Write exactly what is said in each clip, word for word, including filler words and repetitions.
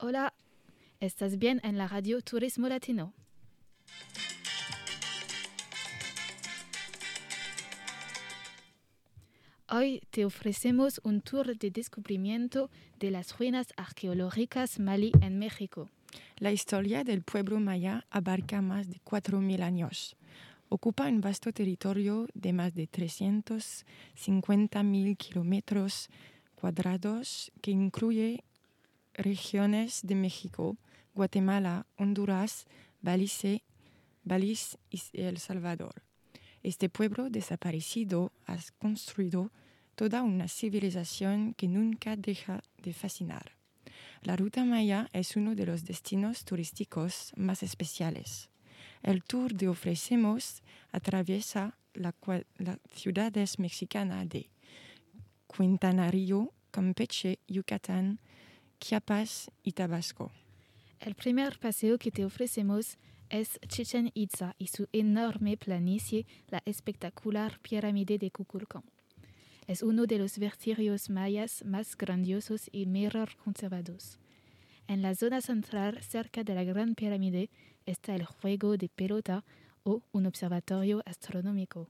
Hola, estás bien en la radio Turismo Latino. Hoy te ofrecemos un tour de descubrimiento de las ruinas arqueológicas Malí en México. La historia del pueblo maya abarca más de cuatro mil años. Ocupa un vasto territorio de más de trescientos cincuenta mil kilómetros cuadrados que incluye regiones de México, Guatemala, Honduras, Belice, Belice y El Salvador. Este pueblo desaparecido ha construido toda una civilización que nunca deja de fascinar. La Ruta Maya es uno de los destinos turísticos más especiales. El tour que ofrecemos atraviesa las la ciudades mexicanas de Quintana Roo, Campeche, Yucatán, Chiapas y Tabasco. El primer paseo que te ofrecemos es Chichén Itzá y su enorme planicie, la espectacular pirámide de Kukulcán. Es uno de los vestigios mayas más grandiosos y mejor conservados. En la zona central, cerca de la Gran Pirámide, está el juego de pelota o un observatorio astronómico.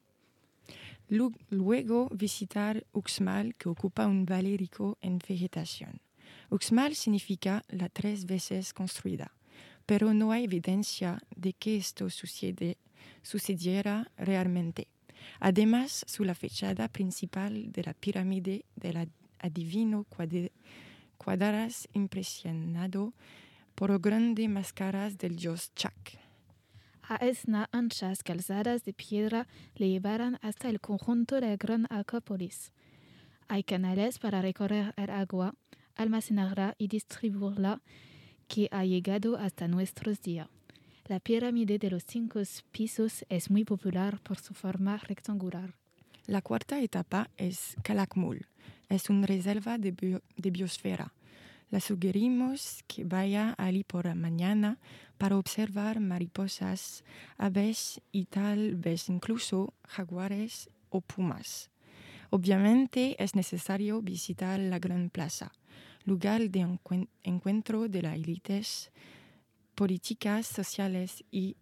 Luego visitar Uxmal, que ocupa un valle rico en vegetación. Uxmal significa la tres veces construida, pero no hay evidencia de que esto sucede, sucediera realmente. Además, su la fachada principal de la pirámide del adivino Cuadras impresionado por grandes máscaras del dios Chak. A esas anchas calzadas de piedra le llevarán hasta el conjunto de la Gran Acrópolis. Hay canales para recorrer el agua, almacenarla y distribuirla que ha llegado hasta nuestros días. La pirámide de los cinco pisos es muy popular por su forma rectangular. La cuarta etapa es Calakmul. Es una reserva de, bio, de biosfera. Le sugerimos que vaya allí por la mañana para observar mariposas, aves y tal vez incluso jaguares o pumas. Obviamente es necesario visitar la Gran Plaza, lugar de encu- encuentro de las élites políticas, sociales y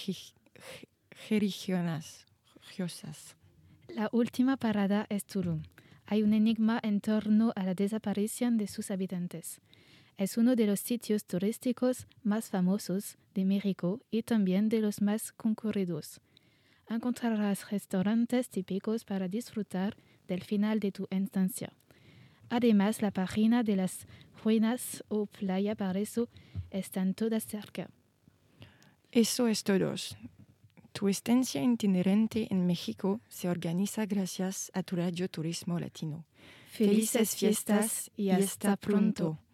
religiosas. La última parada es Tulum. Hay un enigma en torno a la desaparición de sus habitantes. Es uno de los sitios turísticos más famosos de México y también de los más concurridos. Encontrarás restaurantes típicos para disfrutar del final de tu estancia. Además, la página de las ruinas o playa Paraíso están todas cerca. Eso es todo. Tu estancia itinerante en México se organiza gracias a tu radio Turismo Latino. Felices fiestas y hasta pronto.